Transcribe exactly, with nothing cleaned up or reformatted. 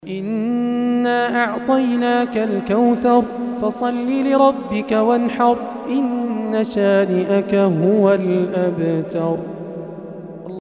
إنا أعطيناك الكوثر فصل لربك وانحر إن شانئك هو الأبتر.